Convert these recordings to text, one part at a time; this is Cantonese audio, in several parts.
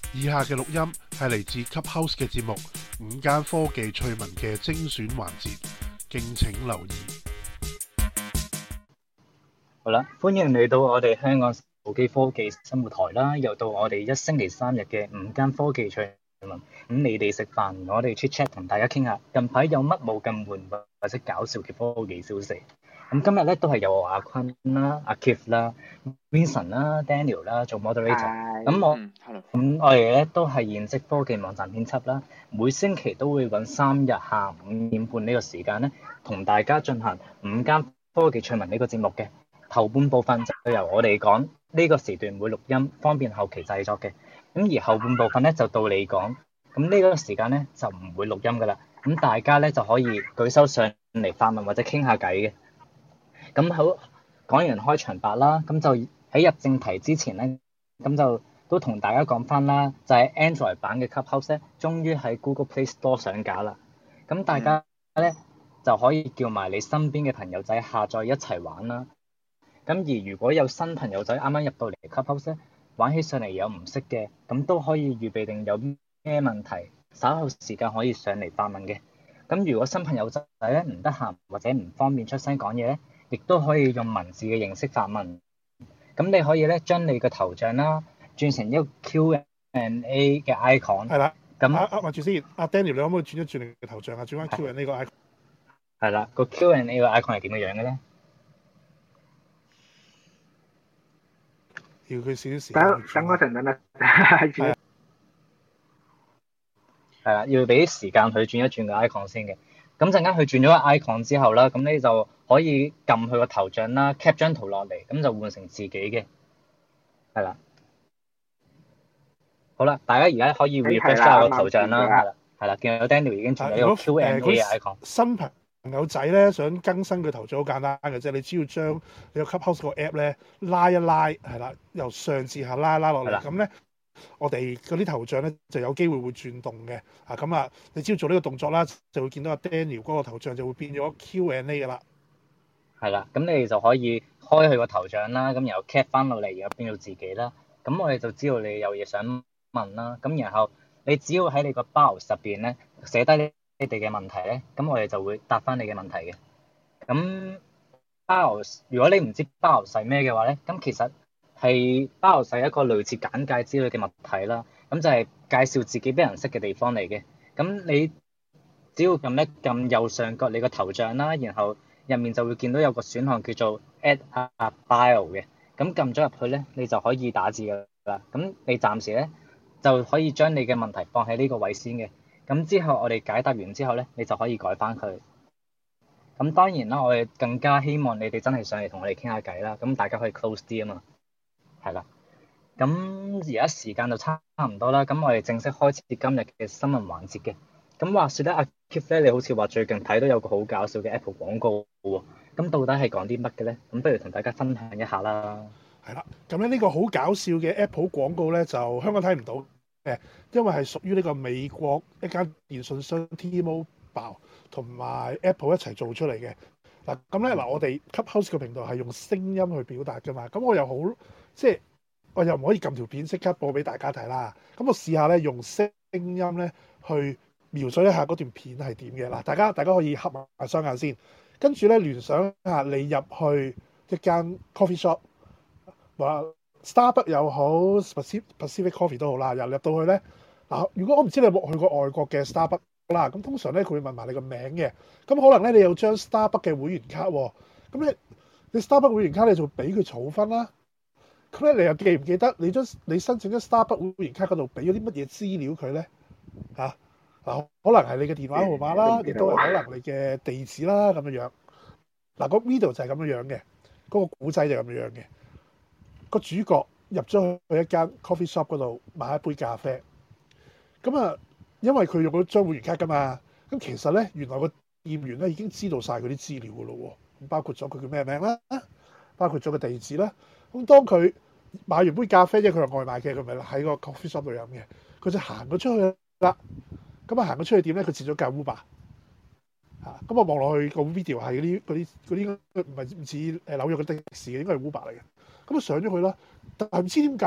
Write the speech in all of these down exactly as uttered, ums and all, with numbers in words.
以下嘅錄音係嚟自 Clubhouse 嘅節目午間科技趣聞嘅精選環節，敬請留意。 好啦，歡迎嚟到我哋香港手機科技生活台啦，又到我哋一星期三日嘅午間科技趣聞。咁你哋食飯，我哋 chat chat 同大家傾下近排有乜冇咁悶或者搞笑嘅科技消息。咁今日咧都係有我阿坤啦、阿 Keith 啦、Vincent 啦、Daniel 啦做 moderator。咁我咁我哋咧都係現職科技網站編輯啦，每星期都會揾三日下午五點半呢個時間咧，同大家進行午間科技趣聞呢個節目嘅。頭半部分就由我哋講，呢個時段會錄音，方便後期製作嘅。咁而後半部分咧就到你講，咁呢個時間咧就唔會錄音噶啦。咁大家咧就可以舉手上嚟發問或者傾下偈嘅。咁好，講完開場白啦，咁就喺入正題之前咧，咁就都同大家講翻啦，就係 Android 版嘅 Clubhouse 咧，終於喺 Google Play Store 上架啦。咁大家咧就可以叫埋你身邊嘅朋友仔下載一齊玩啦。咁而如果有新朋友仔啱啱入到嚟 Clubhouse 咧，玩起上嚟有唔識嘅，咁都可以預備定有咩問題，稍後時間可以上嚟發問嘅。咁如果新朋友仔咧唔得閒或者唔方便出聲講嘢咧，亦都可以用文字嘅形式發問。咁你可以咧將你嘅頭像啦轉成一個 Q and A 嘅 icon。 係啦。 咁啊啊，咪住先，阿 Daniel，你可唔可以轉一轉你嘅頭像啊？轉翻 Q and A 個 icon。 係啦，個 Q and A 個 icon 係點嘅樣嘅咧？ 要佢少少時間。 等等嗰陣等啦。係係啦，要俾啲時間佢轉一轉個 icon 先嘅。咁陣間佢轉咗個 icon 之後啦，咁你就可以撳佢個頭像啦 ，cap 張圖落嚟，咁就換成自己嘅。係啦。好啦，大家而家可以 refresh 下個頭像啦。係啦，係啦，見到 Daniel 已經轉咗一個 Q and A 嘅 icon。 新朋友仔咧想更新佢頭像好簡單嘅啫，你只要將你個 Clubhouse 個 app 咧拉一拉，係啦，由上至下拉一拉落嚟，咁咧我哋嗰啲頭像咧就有機會會轉動嘅。啊，咁啊，你只要做呢個動作啦，就會見到阿 Daniel 嗰個頭像就會變咗 Q and A 噶啦。 係啦，咁你哋就可以開佢個頭像啦，咁然後 cap 翻落嚟，然後變到自己啦。咁我哋就知道你有嘢想問啦。咁然後你只要喺你個 bio 入邊咧寫低你哋嘅問題咧，咁我哋就會答翻你嘅問題嘅。咁 bio 如果你唔知 bio 係咩嘅話咧，咁其實係 bio 係一個類似簡介之類嘅物體啦。咁就係介紹自己俾人識嘅地方嚟嘅。咁你只要撳一撳右上角你個頭像啦，然後入面就會見到有個選項叫做 add a bio 嘅。咁撳咗入去咧，你就可以打字㗎啦。咁你暫時咧就可以將你嘅問題放喺呢個位先嘅。咁之後我哋解答完之後咧，你就可以改翻佢。咁當然啦，我哋更加希望你哋真係上嚟同我哋傾下偈啦。咁大家可以 close 啲啊嘛。係啦。咁而家時間就差唔多啦。咁我哋正式開始今日嘅新聞環節嘅。咁話說咧，阿 Keith 咧，你好似話最近睇到有個好搞笑嘅 Apple 廣告喎。咁到底係講啲乜嘅咧？咁不如同大家分享一下啦。 係啦，咁咧呢個好搞笑嘅 Apple 廣告咧，就香港睇唔到嘅，因為係屬於呢個美國一間電信商 T-Mobile 同埋 Apple 一齊做出嚟嘅。嗱，咁咧嗱，我哋 Clubhouse 嘅頻道係用聲音去表達㗎嘛，咁我又好即係我又唔可以撳條片即刻播俾大家睇啦。咁我試下咧用聲音咧去描述一下嗰段片係點嘅。嗱，大家大家可以合埋雙眼先，跟住咧聯想下你入去一間 coffee shop。話 Starbucks 又好 Pacific Pacific Coffee 都好啦，入入到去咧嗱，如果我唔知你有冇去過外國嘅 Starbucks 啦，咁通常咧佢會問埋你個名嘅，咁可能咧你有張 Starbucks 嘅會員卡喎，咁咧你 Starbucks 會員卡你就俾佢儲分啦，咁咧你又記唔記得你將你申請咗 Starbucks 會員卡嗰度俾咗啲乜嘢資料佢咧嚇？嗱，可能係你嘅電話號碼啦，亦都係可能你嘅地址啦咁樣樣。嗱，個 video 就係咁樣樣嘅，嗰個古仔就係咁樣樣嘅。個主角入咗去一間 coffee shop 嗰度買一杯咖啡，咁啊，因為佢用咗張會員卡㗎嘛，咁其實咧原來個店員咧已經知道晒佢啲資料㗎咯喎，咁包括咗佢叫咩名啦，包括咗個地址啦，咁當佢買完杯咖啡，因為佢係外賣嘅，佢咪喺個 coffee shop 度飲嘅，佢就行咗出去啦，咁啊行咗出去點咧？佢截咗架 Uber。嚇！咁我望落去個 video 係嗰啲嗰啲嗰啲唔係唔似誒紐約嘅的士嘅，應該係 Uber 嚟嘅。咁啊上咗去啦，但係唔知點解咧？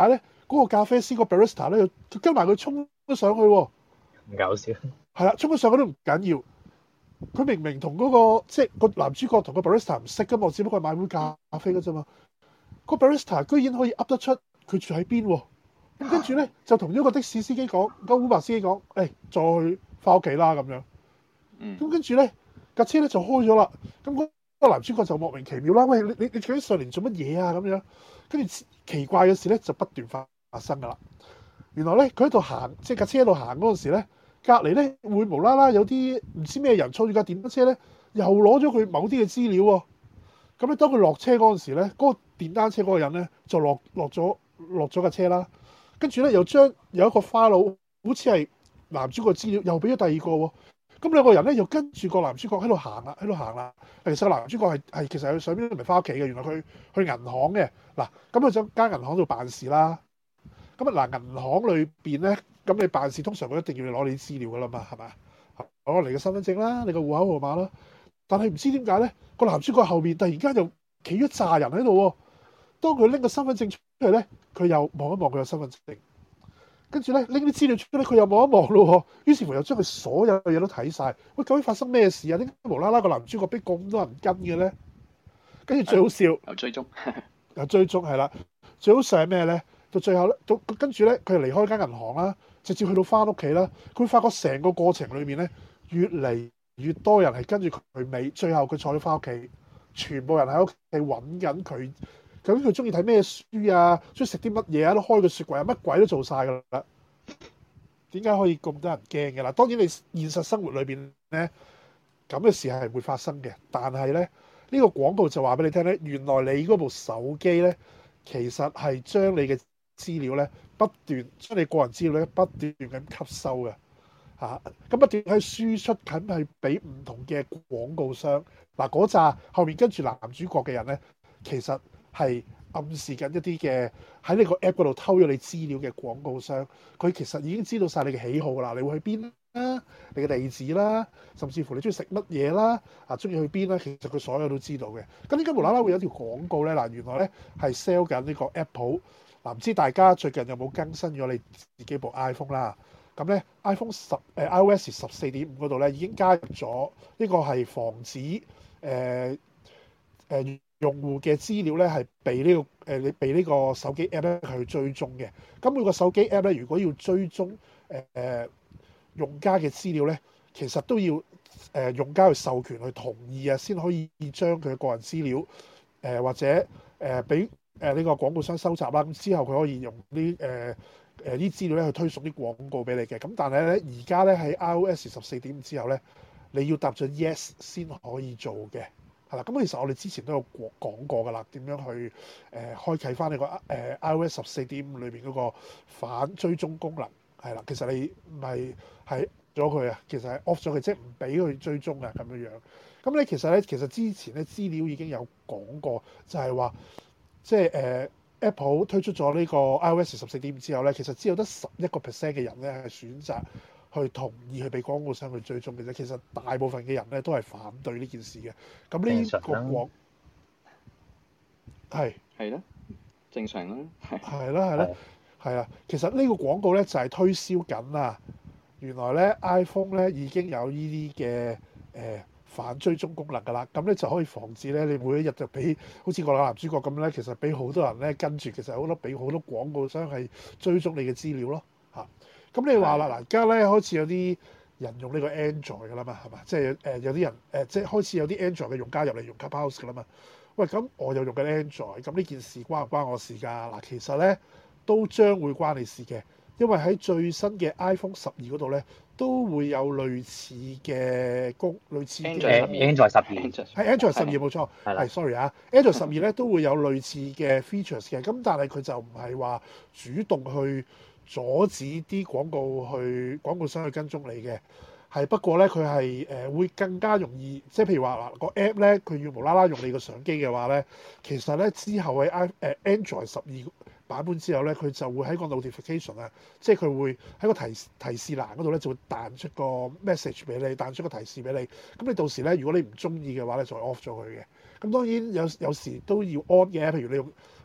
嗰個咖啡師個 barista 咧，佢跟埋佢衝咗上去喎。 唔搞笑。 係啦，衝咗上去都唔緊要。佢明明同嗰、嗰個即係個男主角同個 barista 唔識噶嘛，只不過係買杯咖啡噶啫嘛。個 barista 居然可以噏得出佢住喺邊喎。咁跟住咧就同咗個的士司機講，個 Uber 司機講，誒、哎，再去翻屋企啦咁樣。咁跟住咧架車咧就開咗啦。咁嗰個男主角就莫名其妙啦，喂，你你你究竟上嚟做乜嘢啊？咁樣跟住奇怪嘅事咧就不斷發發生噶啦。原來咧佢喺度行，即係架車喺度行嗰陣時咧，隔離咧會無啦啦有啲唔知咩人坐住架電單車咧，又攞咗佢某啲嘅資料喎。咁咧當佢落車嗰陣時咧，嗰、嗰個電單車嗰個人咧就落落咗落咗架車啦。跟住咧又將有一個花佬，好似係男主角資料，又俾咗第二個喎。咁兩個人咧又跟住個男主角喺度行啦，喺度行啦。其實個男主角係係其實佢上邊都唔係翻屋企嘅，原來佢去銀行嘅嗱。咁佢想間銀行度辦事啦。咁啊嗱，銀行裏邊咧，咁你辦事通常佢一定要攞你資料噶啦嘛，係咪？攞你嘅身份證啦，你個戶口號碼啦。但係唔知點解咧，個男主角後面突然間就企咗紮人喺度喎。當佢拎個身份證出嚟咧，佢又望一望佢嘅身份證，跟住咧拎啲資料出嚟，佢又望一望咯喎。於是乎又將佢所有嘢都睇晒。喂，究竟發生咩事啊？點解無啦啦個男主角俾咁多人跟嘅咧？跟住最好笑， 有追蹤， 有追蹤係啦。最好笑係咩咧？到最後咧，到跟住咧，佢就離開間銀行啦，直接去到翻屋企啦。佢發覺成個過程裏面咧，越嚟越多人係跟住佢尾，最後佢坐咗翻屋企，全部人喺屋企揾緊佢。究竟佢中意睇咩書啊？中意食啲乜嘢啊？都開個雪櫃啊，乜鬼都做晒㗎啦。點解可以咁多人驚嘅啦？當然你現實生活裏邊咧，咁嘅事係會發生嘅。但係咧，呢個廣告就話俾你聽咧，原來你嗰部手機咧，其實係將你嘅資料咧不斷將你個人資料咧不斷咁吸收嘅嚇，咁不斷喺輸出緊係俾唔同嘅廣告商。嗱，嗰紮後面跟住男主角嘅人咧，其實係暗示緊一啲嘅喺呢個 app 嗰度偷咗你資料嘅廣告商。佢其實已經知道晒你嘅喜好啦，你會去邊啦，你嘅地址啦，甚至乎你中意食乜嘢啦，啊中意去邊啦，其實佢所有都知道嘅。咁點解無啦啦會有條廣告咧？嗱，原來咧係 sell 緊呢個 Apple。嗱，唔知大家最近有冇更新咗你自己部 iPhone 啦？咁咧 iPhone 十誒 iOS 十四點五嗰度咧已經加入咗呢個係防止誒誒、呃呃、用戶嘅資料咧係被呢、這個誒你被呢個手機 app 咧去追蹤嘅。咁每個手機 app 咧如果要追蹤誒誒、呃、用家嘅資料咧，其實都要誒、呃、用家去授權去同意啊，先可以將佢嘅個人資料誒、呃、或者誒俾。呃誒呢個廣告商收集啦，咁之後佢可以用啲誒誒啲資料咧去推送啲廣告俾你嘅。咁但係咧而家咧喺 iOS 十四點五之後咧，你要答咗 yes 先可以做嘅，係啦。咁其實我哋之前都有講過㗎啦，點樣去誒、呃、開啟翻呢個誒、呃、iOS 十四點五裏邊嗰個反追蹤功能，係啦。其實你唔係係咗佢啊，其實係 off 咗佢，即係唔俾佢追蹤啊咁樣樣。咁你其實咧，其實之前咧資料已經有講過，就係話。即係誒、呃、Apple 推出咗呢個 iOS 十四點五之後咧，其實只有得十一個 percent 嘅人咧係選擇去同意去俾廣告商去追蹤嘅啫。其實大部分嘅人咧都係反對呢件事嘅。咁呢個廣係係咯，正常啦。 係啦係啦係啦。其實呢個廣告咧就係、是、推銷緊啊。原來咧 iPhone 咧已經有呢啲嘅誒。呃反追蹤功能㗎啦，咁咧就可以防止咧你每一日就俾好似個男主角咁咧，其實俾好多人咧跟住，其實好多俾好多廣告商係追蹤你嘅資料咯嚇。咁你話啦，嗱而家咧開始有啲人用呢個 Android 㗎啦嘛，係嘛？即係誒有啲人誒、呃、即係開始有啲 Android 嘅用家入嚟用 Clubhouse 㗎啦嘛。喂，咁我又用緊 Android，咁呢件事關唔關我事㗎？嗱，其實咧都將會關你事嘅，因為喺最新嘅 iPhone 十二嗰度咧。都會有類似嘅功，類似嘅 Android 十二， 係 Android 十二冇錯，係 sorry 啊 ，Android 十二咧都會有類似嘅 features 嘅，咁但係佢就唔係話主動去阻止啲廣告去廣告商去跟蹤你嘅，係不過咧佢係誒會更加容易，即係譬如話嗱個 app 咧佢要無啦啦用你個相機嘅話咧，其實咧之後喺 i 誒 Android 十二版本之後咧，佢就會喺個 notification 啊，即係佢會喺個提提示欄嗰度咧，就會彈出個 message 俾你，彈出個提示俾你。咁你到時咧，如果你唔中意嘅話咧，就 off 咗佢嘅。咁當然有有時都要 on 嘅，譬如你用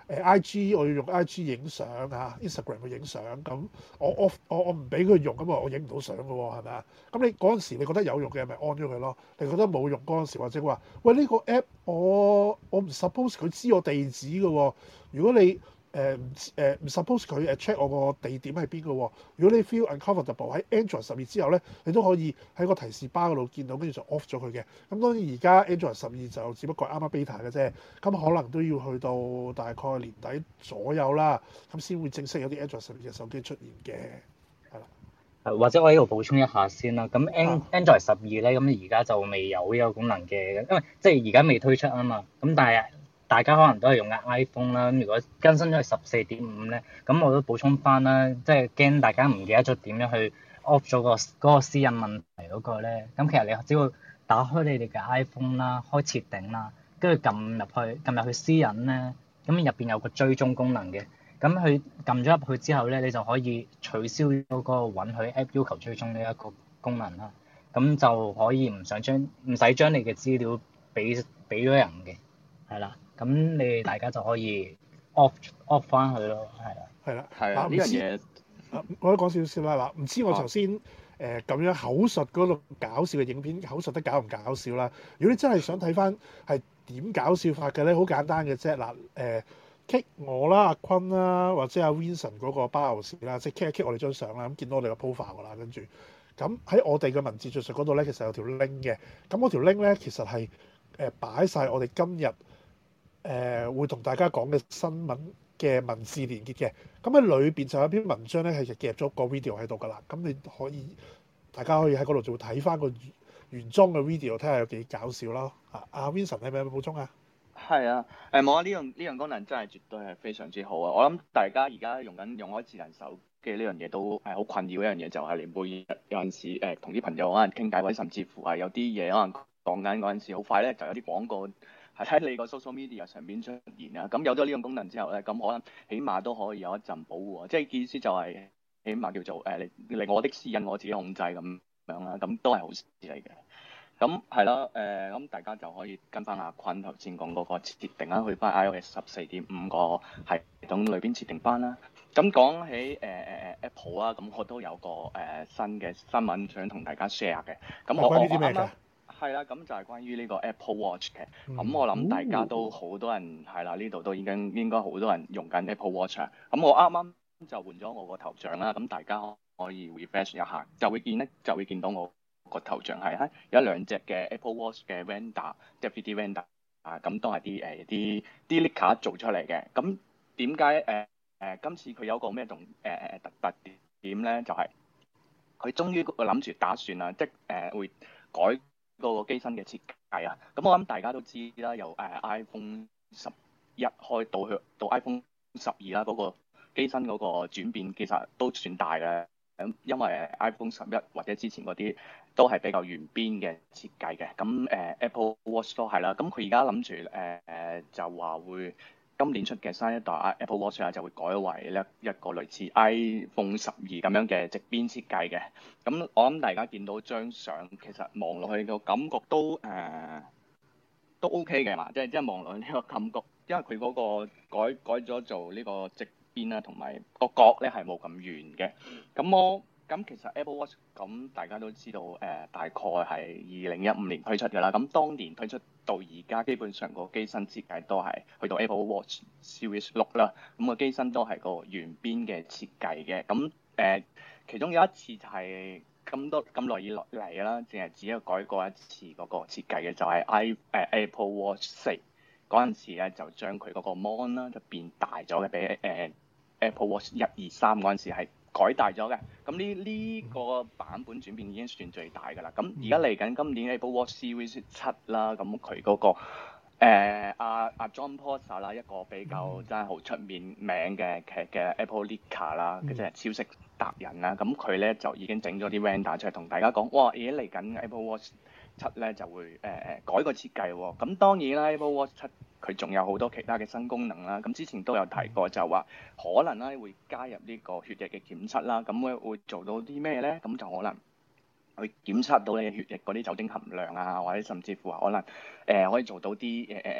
誒 I G 我要用 I G 影相啊 ，Instagram 去影相，咁我 off 我我唔俾佢用，咁啊我影唔到相嘅喎，係咪啊？咁你嗰陣時你覺得有用嘅咪 on 咗佢咯？你覺得冇用嗰陣時，或者話喂呢個 app 我我唔 suppose 佢知我地址嘅喎，如果你誒唔誒唔 suppose 佢誒 check 我個地點喺邊嘅喎。如果你 feel uncomfortable 喺 Android 十二之後咧，你都可以喺個提示巴嗰度見到，跟住就 off 咗佢嘅。咁當然而家 Android 十二就只不過啱啱 beta 嘅啫，咁可能都要去到大概年底左右啦，咁先會正式有啲 Android 十二嘅手機出現嘅，係啦。 或者我喺度補充一下先啦。咁 An 啊 Android 十二咧，咁而家就未有呢個功能嘅，因為即係而家未推出啊嘛。咁但係大家可能都係用緊 iPhone 啦。咁如果更新咗去十四點五咧，咁我都補充翻啦，即係驚大家唔記得咗點樣去 off 咗個嗰個私隱問題嗰個咧。咁其實你只要打開你哋嘅 iPhone 啦，開設定啦，跟住撳入去撳入去私隱咧，咁入邊有個追蹤功能嘅。咁佢撳咗入去之後咧，你就可以取消咗嗰個允許 App 要求追蹤呢一個功能啦。咁就可以唔想將唔使將你嘅資料俾俾咗人嘅，係啦。咁你哋大家就可以 off off 翻佢咯，係啦。 係啦， 係啊，呢樣嘢啊，我都講少少啦。嗱，唔知我頭先誒咁樣口述嗰度搞笑嘅影片，口述得搞唔搞笑啦？如果你真係想睇翻係點搞笑法嘅咧，好簡單嘅啫。嗱，誒 kick 我啦，阿坤啦，或者阿 Vincent 嗰個包牛士啦，即係 kick 一 kick 我哋張相啦，咁見到我哋個 profile 噶啦，跟住咁喺我哋嘅文字敘述嗰度咧，其實有條 link 嘅。咁嗰條 link 咧，其實係誒擺晒我哋今日誒、呃、會同大家講嘅新聞嘅文字連結嘅。咁喺裏邊就有一篇文章咧，係夾咗個 video 喺度噶啦。咁你可以大家可以喺嗰度就會睇翻個原裝嘅 video，睇下有幾搞笑咯。啊，阿 Vincent 係咪有冇補充啊？ 係啊，誒冇啊！呢樣呢樣功能真係絕對係非常之好啊！我諗大家而家用緊用開智能手機呢樣嘢都係好困擾一樣嘢，就係你每日有陣時誒同啲朋友可能傾偈，或者甚至乎係有啲嘢可能講緊嗰陣時，好快咧就有啲廣告係喺你個 social media 上邊出現啊！咁有咗呢樣功能之後咧，咁可能起碼都可以有一陣保護啊！即係意思就係起碼叫做誒令令我的私隱我自己控制咁樣啦，咁都係好事嚟嘅。咁係啦，誒咁、呃、大家就可以跟翻阿坤頭先講嗰個設定啦，去翻 iOS 十四點五個系統裏邊設定翻啦。咁講起誒誒誒 Apple 啊，咁我都有個誒、呃、新嘅新聞想同大家 share 嘅。咁我我啱啱係啦，咁就係關於呢個 Apple Watch 嘅。咁、嗯、我諗大家都好多人係啦，呢度都已經應該好多人用緊 Apple Watch 啊。咁我啱啱就換咗我個頭像啦，咁大家可以 refresh 一下，就會見咧就會見到我個頭像係喺有一兩隻嘅 Apple Watch 嘅 vendor，即係 three D vendor 啊，咁都係啲誒啲啲 leaker 做出嚟嘅。咁點解誒誒今次佢有個咩同誒誒特特點咧？就係、是、佢終於諗住打算啊，即係誒、呃、會改個機身嘅設計啊。咁我諗大家都知啦，由誒、呃、iPhone 十一開到去到 iPhone 十二啦，嗰個機身嗰個轉變其實都算大嘅。咁因為 iPhone 十一或者之前嗰啲都係比較圓邊嘅設計嘅，咁誒、呃、Apple Watch 都係啦。咁佢而家諗住誒誒就話會今年出嘅新一代 Apple Watch 啊，就會改為咧一個類似 iPhone 十二咁樣嘅直邊設計嘅。咁我諗大家見到張相，其實望落去個感覺都誒、呃、都 OK 嘅嘛，即係即係望落去呢個感覺，因為佢嗰個改改咗做呢個直邊啦，同埋個角咧係冇咁圓嘅。咁我咁其實 Apple Watch 咁大家都知道誒、呃，大概係二零一五年推出嘅啦。咁當年推出到而家，基本上個機身設計都係去到 Apple Watch Series 六啦。咁個機身都係個圓邊嘅設計嘅。咁誒、呃，其中有一次就係咁多咁耐以來嚟啦，淨係只有改過一次嗰個設計嘅，就係、是、i 誒、呃、Apple Watch 四嗰陣時咧，就將佢嗰個 mon 啦就變大咗嘅，比誒。呃Apple Watch 一二三嗰陣時係改大咗嘅，咁呢呢個版本轉變已經算最大㗎啦。咁而家嚟緊今年 Apple Watch Series 七啦，咁佢嗰個誒阿阿 John Prosser 啦，一個比較真係好出面名嘅嘅嘅 Apple Leaker 啦，佢真係超識達人啦。咁佢咧就已經整咗啲 render 出嚟同大家講，哇！而家嚟緊 Apple Watch 七咧就會誒誒、呃、改個設計喎。咁當然啦 ，Apple Watch 七佢仲有好多其他嘅新功能啦。咁之前都有提過，就話可能咧會加入呢個血液嘅檢測啦。咁會會做到啲咩咧？咁就可能去檢測到你血液嗰啲酒精含量啊，或者甚至乎可能誒、呃、可以做到啲誒誒誒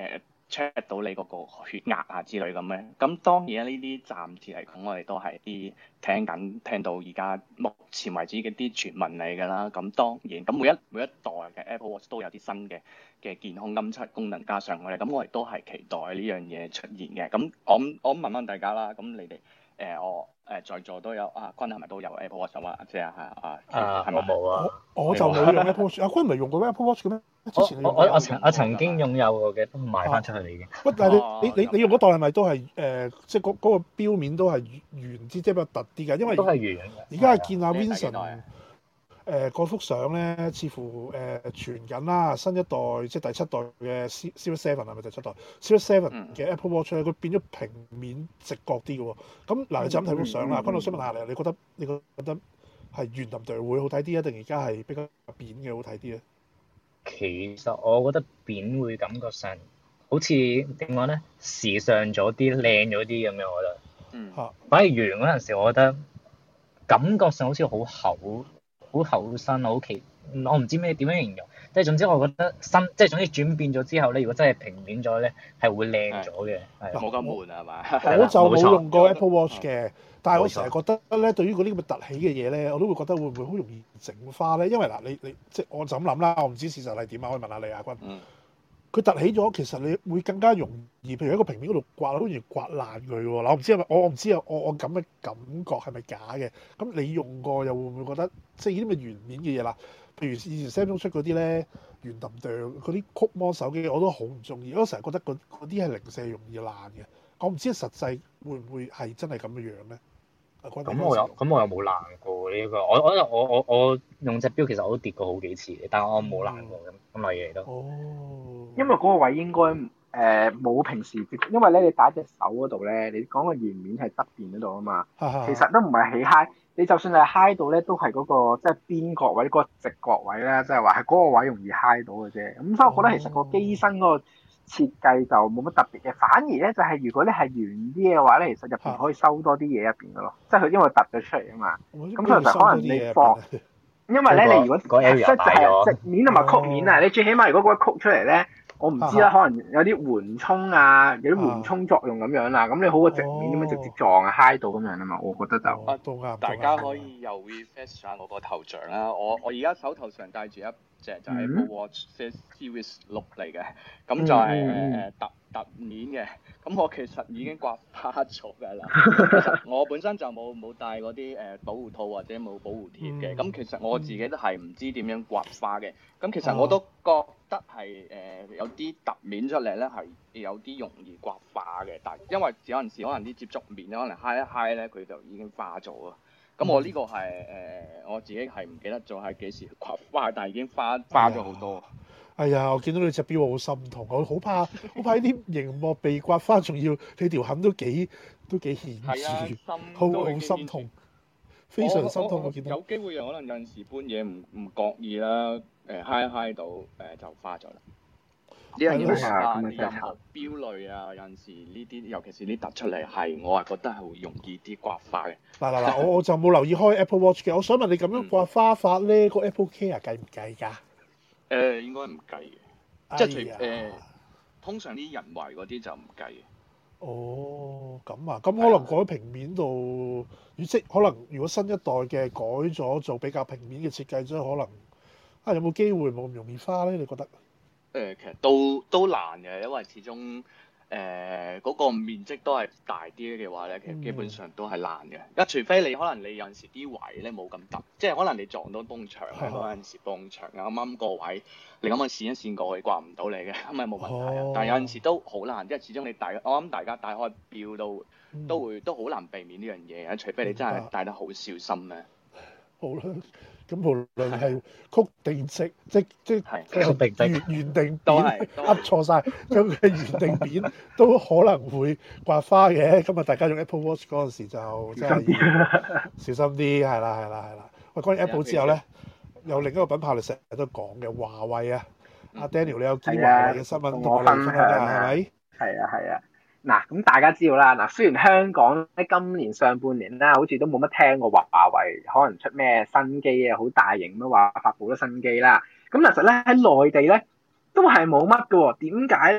check 到你嗰個血壓啊之類咁嘅。咁當然呢啲暫時嚟講，我哋都係啲聽緊聽到而家目前為止嘅啲傳聞嚟㗎啦。咁當然咁每一每一代嘅 Apple Watch 都有啲新嘅嘅健康監測功能加上去，咁我哋都係期待呢樣嘢出現嘅。咁我我問問大家啦，咁你哋誒、呃、我誒、呃、在座都有啊，君係咪都有 Apple Watch 啊？即係啊啊， 啊我冇啊， 我我就冇用 Apple Watch。阿君唔係用過 Apple Watch 嘅咩？之前我我我曾我曾經擁有過嘅，都賣翻出去嚟嘅。 喂，但係你你你你用嗰代係咪都係誒，即係嗰嗰個錶面都係圓啲，即係比較突啲㗎？因為都係圓嘅。 而家係見阿 Vincent 誒嗰幅相咧，似乎誒傳緊啦，新一代即係第七代嘅 Series Seven 係咪第七代 Series Seven 嘅 Apple Watch 咧，佢變咗平面直角啲嘅喎。咁嗱，你就咁睇幅相啦。君，我想問下你，你覺得你覺得係圓揼對會好睇啲啊，定而家係比較扁嘅好睇啲咧？ 其實我覺得扁會感覺上好似點講咧，時尚咗啲、靚咗啲咁樣，我覺得。 嗯。 反而圓嗰陣時，我覺得感覺上好似好厚。好厚身，好奇，我唔知咩點樣形容，即係總之我覺得新，即係總之轉變咗之後咧，如果真係平面咗咧，係會靚咗嘅，係冇咁悶啊嘛。 我就冇用過 Apple Watch 嘅，但係我成日覺得咧，對於嗰啲咁嘅凸起嘅嘢咧，我都會覺得會唔會好容易整花咧？因為嗱，你你即係我就咁諗啦，我唔知事實係點啊，可以問下你阿君。嗯。佢凸起咗，其實你會更加容易，譬如喺個平面嗰度刮，好似刮爛佢喎。嗱，我唔知係咪，我我唔知啊，我我咁嘅感覺係咪假嘅？咁你用過又會唔會覺得，即係呢啲咁嘅圓面嘅嘢啦？譬如以前 Samsung 出嗰啲咧，圓揼哚嗰啲曲摩手機，我都好唔中意。我成日覺得嗰啲係零舍容易爛嘅。我唔知實際會唔會係真係咁嘅樣咧？ 咁我有，咁我又冇爛過呢個。我我我我我用隻錶其實我都跌過好幾次嘅，但係我冇爛過咁咁類嘢都。 哦。 因為嗰個位應該誒冇平時接，因為咧你打隻手嗰度咧，你講個圓面係側邊嗰度啊嘛，其實都唔係起嗨。你就算係嗨到咧，都係嗰個即係邊角位嗰個直角位咧，即係話係嗰個位容易嗨到嘅啫。咁所以我覺得其實個機身嗰個設計就冇乜特別嘅，反而咧就係如果你係圓啲嘅話咧，其實入邊可以收多啲嘢入邊嘅咯，即係佢因為凸咗出嚟啊嘛。咁所以就可能你放，因為咧你如果即係直面同埋曲面啊，你最起碼如果嗰個曲出嚟咧。我唔知啦，可能有啲緩衝啊，有啲緩衝作用咁樣啦。咁你好過直面咁樣直接撞啊，揩到咁樣啊嘛。我覺得就啊，都啱。大家可以又 refresh 下我個頭像啦。我我而家手頭上戴住一隻就係 Apple Watch Series 六嚟嘅，咁就係誒凸凸面嘅。咁我其實已經刮花咗㗎啦。其實我本身就冇冇戴嗰啲誒保護套或者冇保護貼嘅。咁其實我自己都係唔知點樣刮花嘅。咁其實我都覺得係誒、呃、有啲凸面出嚟咧，係有啲容易刮花嘅。但係因為有陣時可能啲接觸面可能揩一揩咧，佢就已經花咗啊。咁我呢個係誒、呃、我自己係唔記得咗係幾時刮花，但係已經花花咗好多。哎呀，我見到你隻錶我好心痛，我好怕好怕呢啲熒幕被刮花，仲要你條痕都幾都幾顯著，好好心痛，非常心痛。我見到有機會可能有陣時搬嘢唔唔覺意啦。誒揩一揩到誒就花咗啦。呢樣嘢啊，任何錶類啊，有陣時呢啲，尤其是呢突出嚟，係我係覺得係會容易啲刮花嘅。嗱嗱嗱，我我就冇留意開 Apple Watch 嘅，我想問你咁樣刮花法咧，個 Apple Care 計唔計㗎？ 誒應該唔計嘅，即係除誒通常啲人為嗰啲就唔計嘅。 哦，咁啊，咁可能改平面度，即可能如果新一代嘅改咗做比較平面嘅設計，所以可能。啊，有冇機會冇咁容易花咧？你覺得？誒、 呃，其實都都難嘅，因為始終誒嗰、呃那個面積都係大啲嘅話咧，其實基本上都係難嘅。一、嗯、除非你可能你有陣時啲位咧冇咁凸，即係可能你撞到埲牆咧，嗰陣時埲牆啱啱個位，你咁樣線一線過去刮唔到你嘅，咁咪冇問題啊。哦、但係有陣時都好難，因為始終你大，我諗大家戴開錶都、嗯、都會都好難避免呢樣嘢嘅，除非你真係戴得好小心咧。 好啦。咁無論係曲定直，即即圓圓定扁，噏錯晒，將佢圓定扁都可能會刮花嘅。今日大家用 Apple Watch 嗰陣時就真係小心啲，係啦係啦係啦。喂，關於 Apple 之後咧，有另一個品牌你成日都講嘅華為啊，阿 Daniel 你有見華為嘅新聞同我哋分享下係咪？ 係啊係啊。嗱，咁大家知道啦。嗱，雖然香港喺今年上半年啦，好似都冇乜聽過華為可能出咩新機啊，好大型咁話發佈咗新機啦。咁其實咧喺內地咧都係冇乜嘅喎。點解咧？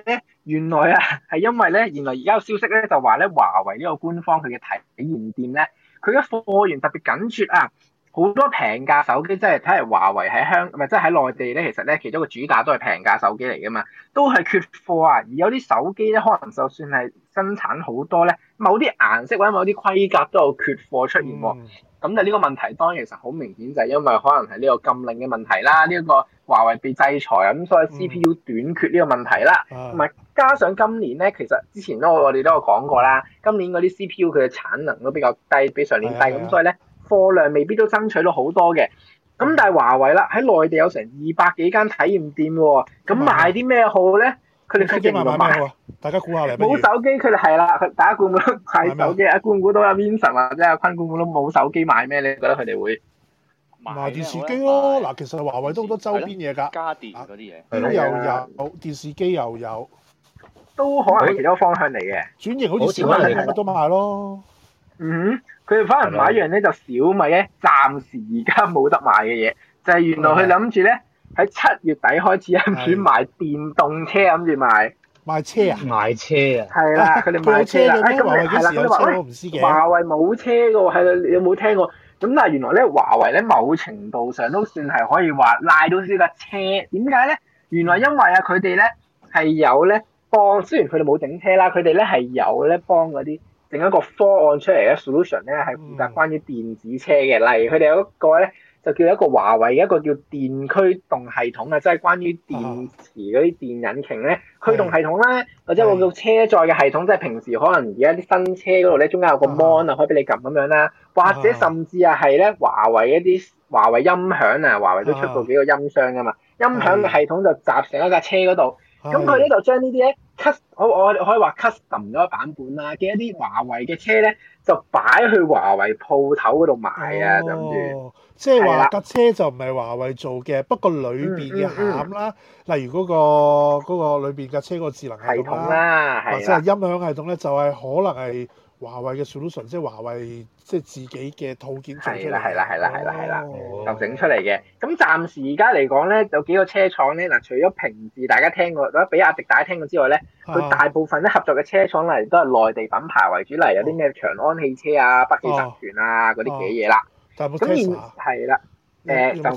原來啊係因為咧，原來而家有消息咧就話咧，華為呢個官方佢嘅體驗店咧，佢嘅貨源特別緊缺啊！好多平價手機，即係睇嚟華為喺香，唔係即係喺內地咧，其實咧其中一個主打都係平價手機嚟噶嘛，都係缺貨啊！而有啲手機咧，可能就算係生產好多咧，某啲顏色或者某啲規格都有缺貨出現喎。咁就呢個問題當然其實好明顯就係因為可能係呢個禁令嘅問題啦，呢、這、一個華為被制裁啊，咁所以 C P U 短缺呢個問題啦，同埋、嗯、加上今年咧，其實之前都我哋都有講過啦，今年嗰啲 C P U 佢嘅產能都比較低，比上年低，咁、嗯、所以咧。貨量未必都爭取到好多嘅，咁但係華為啦喺內地有成二百幾間體驗店喎，咁賣啲咩好咧？佢哋決定賣咩好啊？大家估下嚟。冇手機，佢哋係啦，大家估唔估到賣手機啊？估唔估到阿 Vincent 或者阿坤估唔估到冇手機賣咩？你覺得佢哋會賣電視機咯？嗱，其實華為都好多周邊嘢㗎，家電嗰啲嘢，都又有電視機又有，都可能係其中一個方向嚟嘅。轉型好似小米咁乜都賣咯。嗯，佢哋反而買一樣咧，就小米咧，暫時而家冇得賣嘅嘢，就係、是、原來佢諗住咧喺七月底開始諗住賣電動車，諗住賣賣車啊，賣車啊，係啦，佢哋賣車啦，誒咁係啦，佢哋話咧華為冇車嘅喎，係啦，你有冇聽過？咁但係原來咧華為咧某程度上都算係可以話賴到呢架車，點解咧？原來因為啊佢哋咧係有咧幫，雖然佢哋冇整車啦，佢哋咧係有咧幫嗰啲。整一個方案出嚟嘅 solution 咧，係負責關於電子車嘅。例如佢哋有一個咧，就叫一個華為嘅一個叫電驅動系統啊，即係關於電池嗰啲電引擎咧驅動系統啦，或者我叫車載嘅系統，即係平時可能而家啲新車嗰度咧，中間有個 mon 啊，可以俾你撳咁樣啦，或者甚至啊係咧華為一啲華為音響啊，華為都出過幾個音箱噶嘛，音響嘅系統就集成一架車嗰度。咁佢咧就將呢啲咧 custom，我我可以話 custom 咗個版本啦嘅一啲華為嘅車咧，就擺去華為鋪頭嗰度賣啊，諗住、哦。即係話架車就唔係華為做嘅，不過裏邊嘅餡啦，嗯嗯嗯、例如嗰、嗰個嗰、嗰個裏邊架車嗰個智能系統啦，或者係音響系統咧，就係可能係華為嘅 solution，即係華為即係自己嘅套件做出嚟。係啦係啦係啦係啦係啦，就整出嚟嘅。咁暫時而家嚟講咧，有幾個車廠咧，嗱，除咗平治大家聽過，或者比亞迪大家聽過之外咧，佢大部分咧合作嘅車廠嚟都係內地品牌為主，例如有啲咩長安汽車啊、北汽集團啊嗰啲嘅嘢啦。咁然係啦，誒就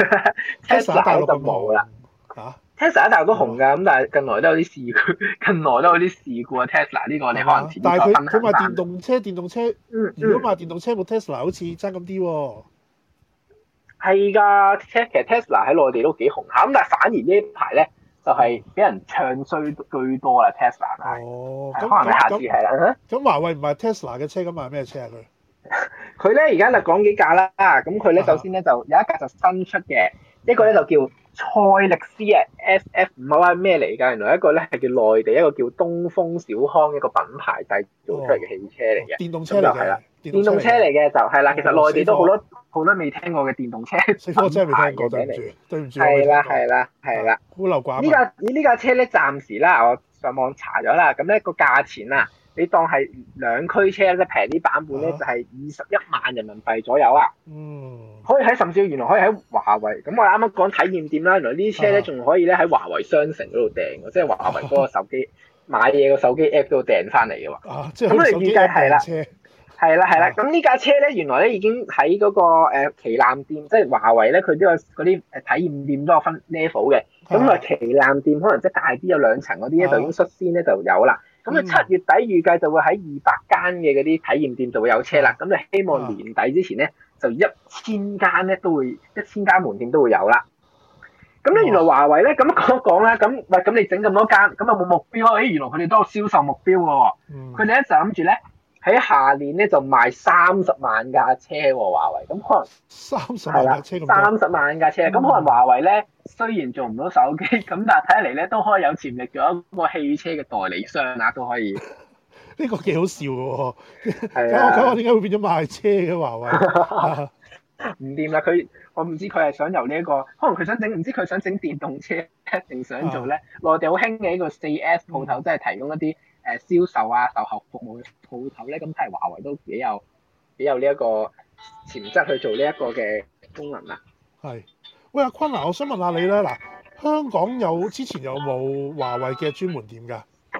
Tesla 就冇啦。嚇？Tesla 一大都紅㗎，咁但係近來都有啲事故，近來都有啲事故啊。Tesla 呢個你可能遲啲再分享。但係佢佢賣電動車，電動車，嗯，如果賣電動車冇 Tesla 好似爭咁啲喎。係㗎，其實 Tesla 喺內地都幾紅下，咁但係反而呢一排咧就係俾人唱衰居多啦。Tesla 係，哦，可能下次係啦。咁華為唔係 Tesla 嘅車，咁賣咩車啊佢？佢咧而家就講幾架啦，咁佢咧首先咧就有一架就新出嘅，一個咧就叫賽力斯啊 ，S F 唔係話咩嚟㗎？原來一個咧係叫內地一個叫東風小康一個品牌製造出嚟嘅汽車嚟嘅，電動車嚟嘅，係啦，電動車嚟嘅就係啦，其實內地都好多好多未聽過嘅電動車品牌嘅車嚟，對唔住，係啦係啦係啦，孤陋寡聞。呢架呢架車咧暫時啦，我上網查咗啦，咁咧個價錢啊。你當係兩驅車即係平啲版本咧，就係二十一萬人民幣左右啊！嗯，可以喺甚至原來可以喺華為咁，我啱啱講體驗店啦，原來呢啲車咧仲可以咧喺華為商城嗰度訂嘅，即係華為嗰個手機買嘢個手機 app 嗰度訂翻嚟嘅喎。啊，即係咁你預計係啦，係啦係啦。咁呢架車咧，原來咧已經喺嗰個誒旗艦店，即係華為咧，佢都有嗰啲誒體驗店都有分 level 嘅。咁啊旗艦店可能即係大啲有兩層嗰啲咧，就已經率先咧就有啦。咁佢七月底預計就會喺二百間嘅嗰啲體驗店就會有車啦。咁你希望年底之前咧，就一千間咧都會一千間門店都會有啦。咁咧原來華為咧咁講一講啦，咁喂咁你整咁多間，咁有冇目標啊？誒原來佢哋都有銷售目標嘅喎。佢哋咧就諗住咧喺下年咧就賣三十萬架車喎，華為。咁可能三十萬架車咁多。三十萬架車，咁、嗯、可能華為咧雖然做唔到手機，咁但係睇嚟咧都可以有潛力做一個汽車嘅代理商啦，都可以。呢個幾好笑嘅喎。係啊。咁我點解會變咗賣車嘅華為？唔掂啦，佢我唔知佢係想由呢、這、一個，可能佢想整，唔知佢想整電動車定想做咧？內、啊、地好興嘅一個四 S 鋪頭，即係、嗯、提供一啲誒銷售啊、售後服務嘅鋪頭咧，咁睇嚟華為都幾有幾有呢一個潛質去做呢一個嘅功能啦。係，喂阿坤啊，我想問下你咧，嗱，香港有之前有冇華為嘅專門店㗎？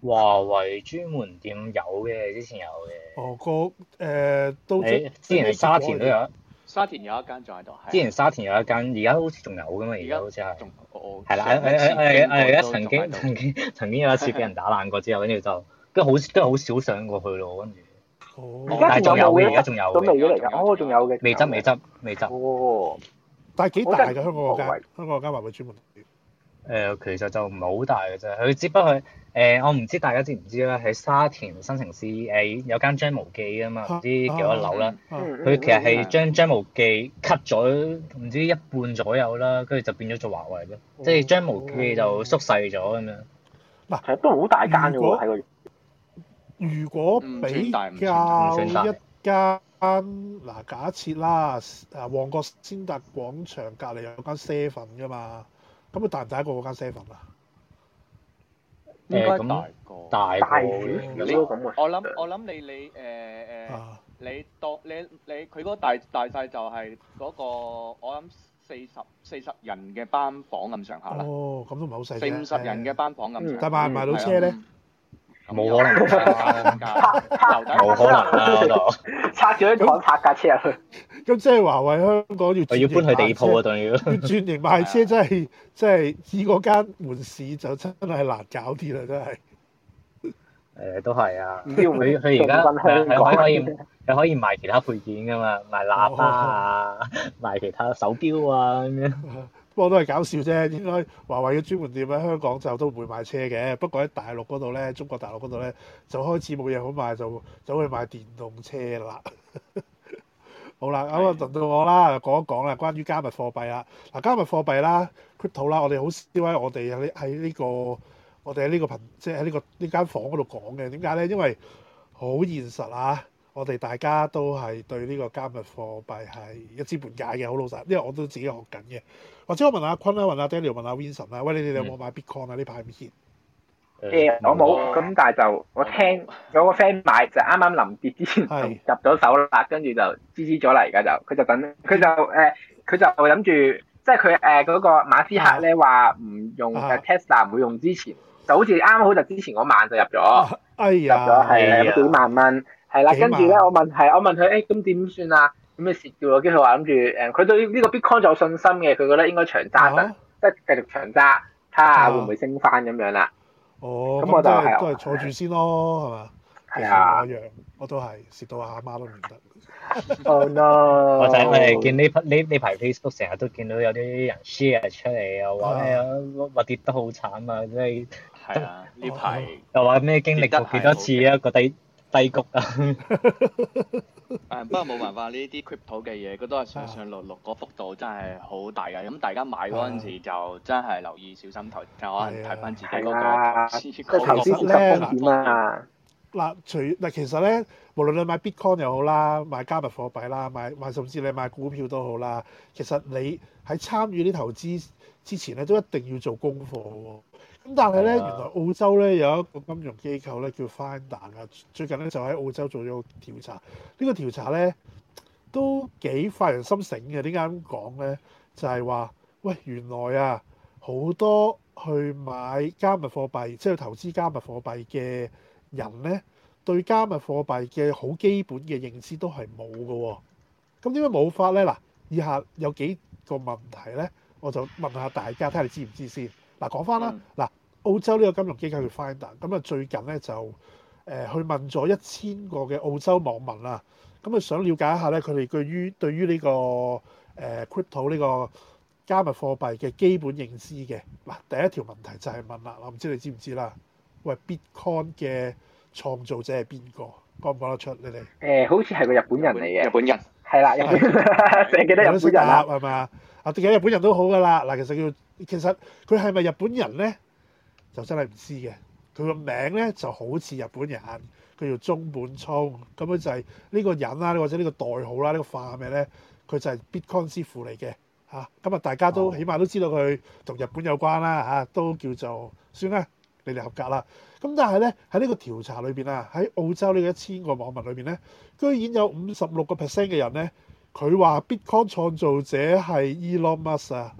華為專門店有嘅，之前有嘅。 哦，個誒都之前係沙田都有。 沙田有一間仲喺度。 之前沙田有一間，而家好似仲有㗎嘛？而家好似係。 仲我係啦，誒誒誒誒誒，而家曾經曾經曾經有一次俾人打爛過之後，跟住就跟住好跟住好少上過去咯，跟住。 哦。 但係仲有嘅，而家仲有嘅。 咁未咗嚟㗎？哦，仲有嘅。 未執未執未執。 哦。 但係幾大㗎？香港嗰間香港嗰間華為專門店。 誒、呃、其實就唔係好大嘅啫，佢只不過誒、呃、我唔知大家知唔知啦，喺沙田新城市誒、呃、有間張無忌啊嘛，唔知幾多樓啦，佢、啊啊、其實係將張無忌 cut 咗唔知一半左右啦，跟住就變咗做華為咯，哦、即係張無忌就縮細咗咁樣。嗱、 啊，其實都好大間嘅喎，喺個。 如果比較一間嗱，假設啦，誒旺角先達廣場隔離有間 seven 㗎嘛。咁佢大唔大一個嗰間 seven 啊？ 應該大個， 大個。 你我諗我諗你你誒誒，你當你你佢嗰個大大細就係嗰個我諗四十四十人嘅班房咁上下啦。哦， 咁都唔係好細啫。 四五十人嘅班房咁上下。 但賣唔賣到車咧？ 冇可能，冇可能啦嗰度。 拆咗啲廠拆架車入去。 咁即係華為香港要要搬去地鋪啊，仲要。要轉型賣車真係真係以嗰間門市就真係難搞啲啦，真係。 誒，都係啊。佢佢而家係可以係可以賣其他配件噶嘛，賣喇叭啊，賣其他手錶啊咁樣。不過都係搞笑啫，應該華為嘅專門店喺香港就都唔會賣車嘅，不過喺大陸嗰度咧，中國大陸嗰度咧就開始冇嘢好賣，就走去賣電動車啦。好啦，咁啊輪到我啦，講一講啦，關於加密貨幣啦。嗱，加密貨幣啦 crypto 啦，我哋好少喺我哋喺喺呢個我哋喺呢個頻，即係喺呢個呢間房嗰度講嘅。點解咧？因為好現實啊！我哋大家都係對呢個加密貨幣係一知半解嘅，好老實。因為我都自己學緊嘅。或者我問阿坤啦，問阿 Daniel，問阿 Vincent 啦。喂，你哋有冇買 Bitcoin 啊？呢排唔熱。 誒，我冇。咁但係就我聽有個 friend 買，就啱啱臨跌之前就入咗手啦，跟住就支支咗啦。而家就佢就等佢就誒，佢就諗住，即係佢誒嗰個馬斯克咧話唔用誒 Tesla 唔會用之前，就好似啱好就之前嗰晚就入咗，入咗係幾萬蚊。係啦，跟住咧，我問係，我問佢，誒咁點算啊？咁咪蝕嘅喎，跟住佢話諗住，誒，佢對呢個 Bitcoin 就有信心嘅，佢覺得應該長揸得，即係繼續長揸，睇下會唔會升翻咁樣啦。 哦，咁我就係都係坐住先咯，係嘛？係啊，一樣，我都係蝕到阿媽都唔得。 Oh no！ 或者我哋見呢呢呢排 Facebook 成日都見到有啲人 share 出嚟，又話咩話跌得好慘啊，即係係啊，呢排又話咩經歷過幾多次啊個低低谷啊！ 誒不過冇辦法，呢啲 crypto 嘅嘢，佢都係上上落落，個幅度真係好大㗎。咁大家買嗰陣時就真係留意小心投，就可能睇翻自己嗰個投資嗰個投資風險啊！ 嗱，除嗱其實咧，無論你買 Bitcoin 又好啦，買加密貨幣啦，買買甚至你買股票都好啦，其實你喺參與啲投資之前咧，都一定要做功課喎。咁但係咧，原來澳洲咧有一個金融機構咧叫 Finder 啊，最近咧就喺澳洲做咗個調查。呢個調查咧都幾發人心醒嘅。點解咁講咧？就係話，喂，原來啊好多去買加密貨幣，即係投資加密貨幣嘅人咧，對加密貨幣嘅好基本嘅認知都係冇嘅喎。咁點解冇法咧？嗱，以下有幾個問題咧，我就問下大家，睇下你知唔知先。嗱，講翻啦，嗱，澳洲呢個金融機構叫 Finder，咁啊最近咧就誒、呃、去問咗一千個嘅澳洲網民啦，咁啊想了解一下咧佢哋對於對於呢、這個誒、呃、crypto 呢個加密貨幣嘅基本認知嘅。嗱，第一條問題就係問啦，我唔知你知唔知啦？喂 ，Bitcoin 嘅創造者係邊個？講唔講得出你哋？誒、 呃，好似係個日本人嚟嘅。 日本人係啦，日本人成日記得日本人啦， 係咪啊？啊，記得日本人都好噶啦。嗱，其實叫其實佢係咪日本人咧？就真係唔知嘅。佢個名咧就好似日本人，佢叫中本聰。咁樣就係呢個人啦，或者呢個代號啦，呢、呢個化名咧，佢就係 Bitcoin 師傅嚟嘅嚇。咁啊，大家都起碼都知道佢同日本有關啦嚇、啊，都叫做算啦，你哋合格啦。咁但係咧喺呢個調查裏邊啊，喺澳洲呢個一千個網民裏邊咧，居然有五十六個 percent 嘅人咧，佢話 Bitcoin 創造者係 Elon Musk 啊。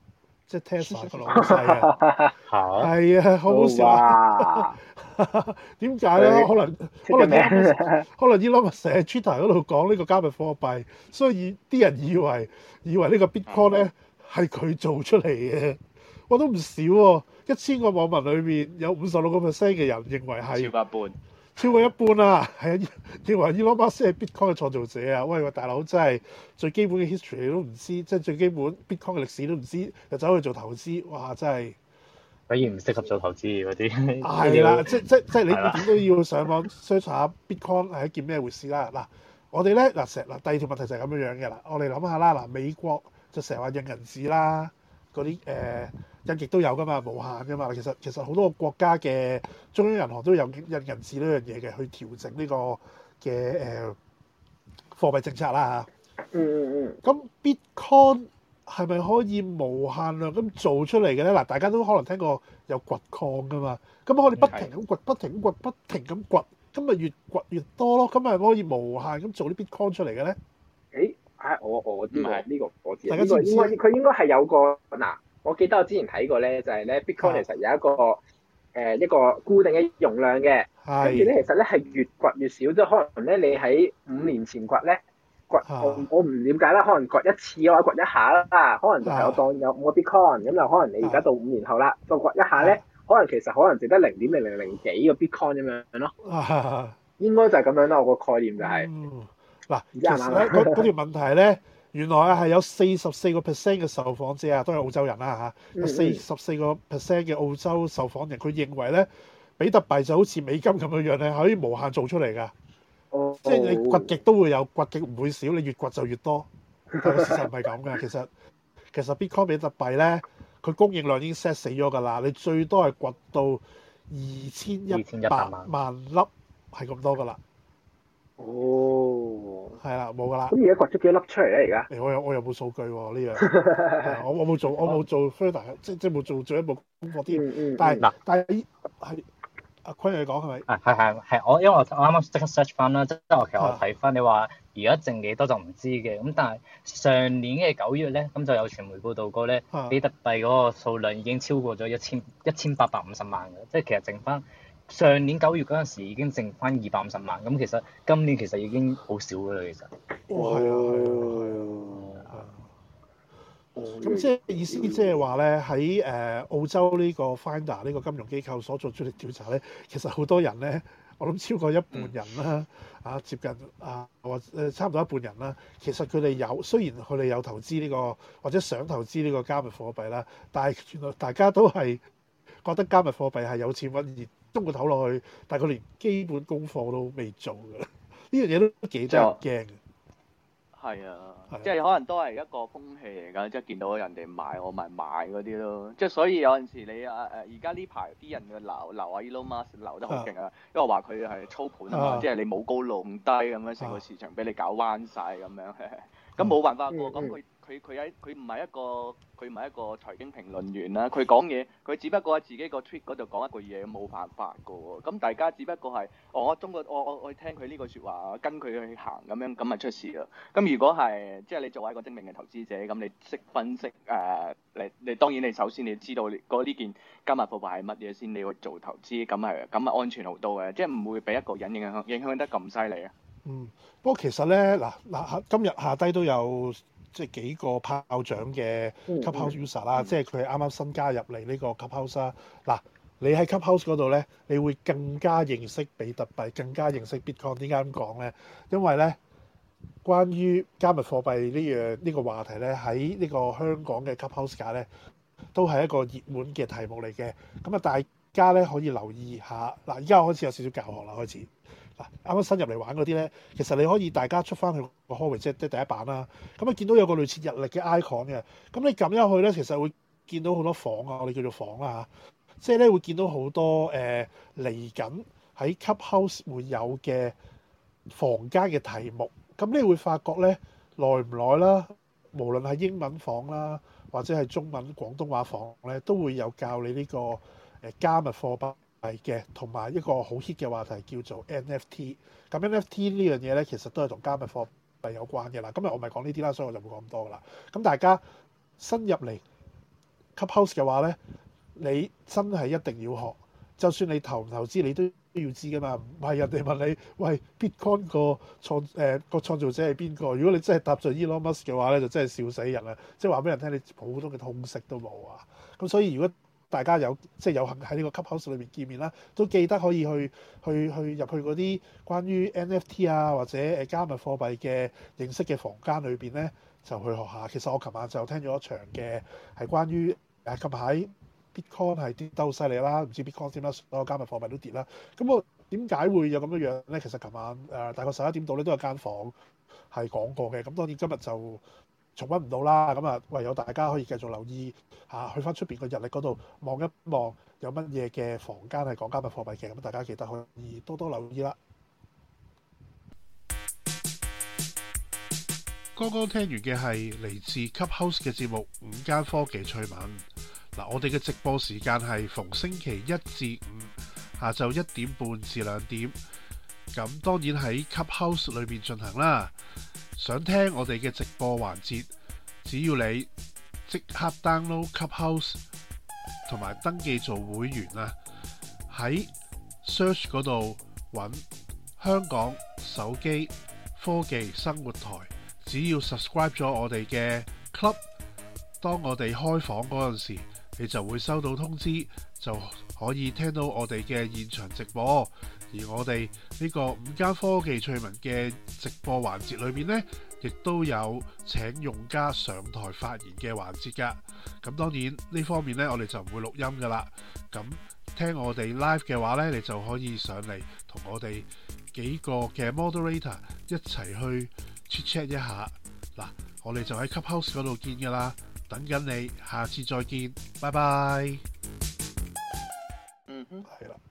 即係 Tesla 個老細啊，係啊，好好笑啊！點解咧？可能可能 Elon 可能 Elon 成日喺 Twitter 嗰度講呢個加密貨幣，所以啲人以為以為呢個 Bitcoin 咧係佢做出嚟嘅。我都唔少喎、啊，一千個網民裏面有五十六個 percent 嘅人認為係超過一半， 超過一半啊，係啊，認為 Elon Musk 係 Bitcoin 嘅創造者啊！喂喂，大佬真係最基本嘅 history 你都唔知，即係最基本 Bitcoin 嘅歷史都唔知，就走去做投資，哇！真係果然唔適合做投資嗰啲。 係啦，即即即係你點都要上網 search 下 Bitcoin 係一件咩回事啦。嗱，我哋咧嗱成嗱第二條問題就係咁樣樣嘅啦。我哋諗下啦，嗱美國就成日話印銀紙啦，嗰啲誒。印極都有噶嘛，無限噶嘛。其實其實好多個國家嘅中央銀行都有印銀紙呢樣嘢嘅，去調整呢個嘅誒、呃、貨幣政策啦嚇。 嗯嗯嗯。 咁 Bitcoin 係咪可以無限量咁做出嚟嘅咧？嗱，大家都可能聽過有掘礦噶嘛。咁我哋不停咁掘，不停咁掘，不停咁掘，咁咪越掘越多咯。咁咪可以無限咁做啲 Bitcoin 出嚟嘅咧？ 誒，啊我我知呢、呢個我知， 大家知唔知？ 應該佢應該係有個嗱。我記得我之前睇過咧，就係、是、咧 Bitcoin 其實有一個誒、呃、一個固定嘅容量嘅，跟住咧其實咧係越掘越少，即係可能咧你喺五年前掘咧掘，我我唔了解啦，可能掘一次或者掘一下啦，可能就係我當有五個 Bitcoin 咁，就可能你而家到五年後啦，再掘一下咧，可能其實可能值得零點零零零幾個 Bitcoin 咁樣咯，應該就係咁樣啦，我個概念就係、是。 嗱、嗯，其實咧嗰嗰條問題咧。原來啊係有四十四個 percent 嘅受訪者啊，都係澳洲人啦嚇，有四十四個 percent 嘅澳洲受訪人，佢認為咧，比特幣就好似美金咁樣樣咧，可以無限做出嚟㗎。 哦、 即係你掘極都會有，掘極唔會少，你越掘就越多。但係事實唔係咁嘅，其實其實 Bitcoin 比特幣咧，佢供應量已經 set 死咗㗎啦，你最多係掘到二千一百萬粒，係咁多㗎啦。 哦， 係啦，冇噶啦。 咁而家掘咗幾粒出嚟咧？而家？ 誒，我有我有冇數據喎？呢樣，我我冇做，我冇做 further，即即冇做做一步功課啲。 嗯嗯。 但係嗱， 但係係阿坤你講係咪？ 啊，係係係，我因為我我啱啱即刻 search 翻啦，即係我其實我睇翻你話而家剩幾多就唔知嘅，咁但係上年嘅九月咧，咁就有傳媒報道過咧，比特幣嗰個數量已經超過咗一千一千八百五十萬嘅，即係其實剩翻。上年九月嗰陣時已經剩翻二百五十萬，咁其實今年其實已經好少㗎啦，其實。 哦，係啊，係啊，係啊，係啊。咁即係意思，即係話咧喺誒澳洲呢個 Finder 呢個金融機構所做出嚟調查咧，其實好多人咧，我諗超過一半人啦，啊接近啊或誒差唔多一半人啦，其實佢哋有雖然佢哋有投資呢個或者想投資呢個加密貨幣啦，但係原來大家都係覺得加密貨幣係有錢揾熱。中個頭落去，但係佢連基本功課都未做嘅，呢樣嘢都幾得人驚嘅。 係啊，即係可能都係一個風氣嚟㗎，即係見到人哋買我咪買嗰啲咯。即係所以有陣時你啊誒而家呢排啲人嘅流流啊 Elon Musk 流得好勁啊，因為話佢係操盤啊嘛，啊即係你冇高弄低咁樣，成個市場俾你搞彎晒咁樣，咁冇辦法喎，咁佢。佢佢喺佢唔係一個佢唔係一個財經評論員啦，佢講嘢佢只不過喺自己個 tweet 嗰度講一句嘢，冇辦法噶喎。咁大家只不過係、哦、我中國我我我聽佢呢句説話，跟佢去行咁樣，咁咪出事啦。咁如果係即係你作為一個精明嘅投資者，咁你識分析誒、呃，你你當然你首先你知道嗰呢件加密貨幣係乜嘢先，你去做投資，咁係咁係安全好多嘅，即係唔會俾一個人影響影響得咁犀利啊。嗯， 不過其實咧嗱嗱今日下低都有。即係幾個炮仗嘅 Clubhouse user 啦，嗯嗯、即係佢係啱啱新加入嚟呢個 Clubhouse 啦。嗱，你喺 Clubhouse 嗰度咧，你會更加認識比特幣，更加認識 Bitcoin。點解咁講咧？因為咧，關於加密貨幣呢樣呢個話題咧，喺呢個香港嘅 Clubhouse 界咧，都係一個熱門嘅題目嚟嘅。咁啊，大家咧可以留意下。嗱，而家我開始有少少教學啦，開始。嗱，啱啱新入嚟玩嗰啲咧，其實你可以大家出翻去個 hallway 即係第一版啦。咁啊，見到有個類似日曆嘅 icon 嘅，咁你撳入去咧，其實會見到好多房啊，我哋叫做房啦嚇。即係咧會見到好多誒嚟緊喺 Clubhouse 會有嘅房間嘅題目。咁你會發覺咧，耐唔耐啦，無論係英文房啦，或者係中文廣東話房咧，都會有教你呢個誒加密貨幣嘅，同埋一個好 hit 嘅話題叫做 N F T。咁 N F T 呢樣嘢咧，其實都係同加密貨幣有關嘅啦。今日我咪講呢啲啦，所以我就冇講咁多噶啦。咁大家新入嚟 Clubhouse 嘅話咧，你真係一定要學。就算你投唔投資，你都要知噶嘛。唔係人哋問你，喂 Bitcoin 個創誒個創造者係邊個？如果你真係答咗 Elon Musk 嘅話咧，就真係笑死人啦！即係話俾人聽，你普通嘅通識都冇啊。咁所以如果大家有即係有幸喺呢個 Clubhouse 裏面見面啦，都記得可以去去去入去嗰啲關於 N F T 啊或者誒加密貨幣嘅認識嘅房間裏邊咧，就去學下。其實我琴晚就聽咗一場嘅係關於誒近排 Bitcoin 係跌得好犀利啦，唔知 Bitcoin 點啦，所有加密貨幣都跌啦。咁我點解會有咁樣樣咧？其實琴晚誒、呃、大概十一點度咧都有間房係講過嘅。咁當然今日就重溫唔到啦。咁啊唯有大家可以繼續留意下，去翻出邊個日曆嗰度望一望有乜嘢嘅房間係講加密貨幣嘅。咁大家記得可以多多留意啦。剛剛聽完嘅係嚟自 Clubhouse 嘅節目《午間科技趣聞》。嗱，我哋嘅直播時間係逢星期一至五下晝一點半至兩點，咁當然喺 Clubhouse 裏面進行啦。想聽我哋嘅直播環節，只要你即刻 download Clubhouse 同埋登記做會員啊，喺 search 嗰度揾香港手機科技生活台，只要 subscribe 咗我哋嘅 club， 當我哋開房嗰陣時，你就會收到通知，就可以聽到我哋嘅現場直播。而我哋呢個午間科技趣聞嘅直播環節裏面呢，亦都有請用家上台發言嘅環節㗎。咁當然呢方面呢，我哋就唔會錄音㗎啦。咁聽我哋 live 嘅話呢，你就可以上嚟同我哋幾個嘅 moderator 一齊去 chat chat 一下。嗱，我哋就喺 Clubhouse 嗰度見㗎啦。等緊你，下次再見，拜拜。 嗯哼， 係啦。